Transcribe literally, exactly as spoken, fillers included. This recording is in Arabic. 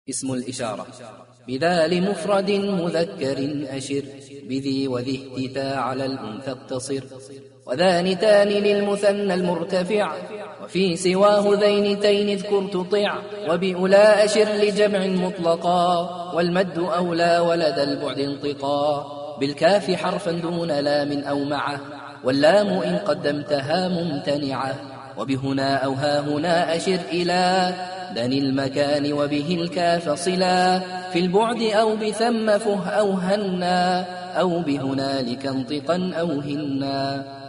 اسم الإشارة بذا لمفرد مذكر أشر بذي وذي اهتتا على الأنثى اقتصر وذان تان للمثنى المرتفع وفي سواه ذينتين اذكر تطع وبأولى أشر لجمع مطلقا والمد أولى ولد البعد انطقا بالكاف حرفا دون لام أو معه واللام إن قدمتها ممتنعة وبهنا أو ها هنا أشر إلى دن المكان وبه الكاف صلا في البعد أو بثم فه أو هنا أو بهنالك انطقا أو هنا.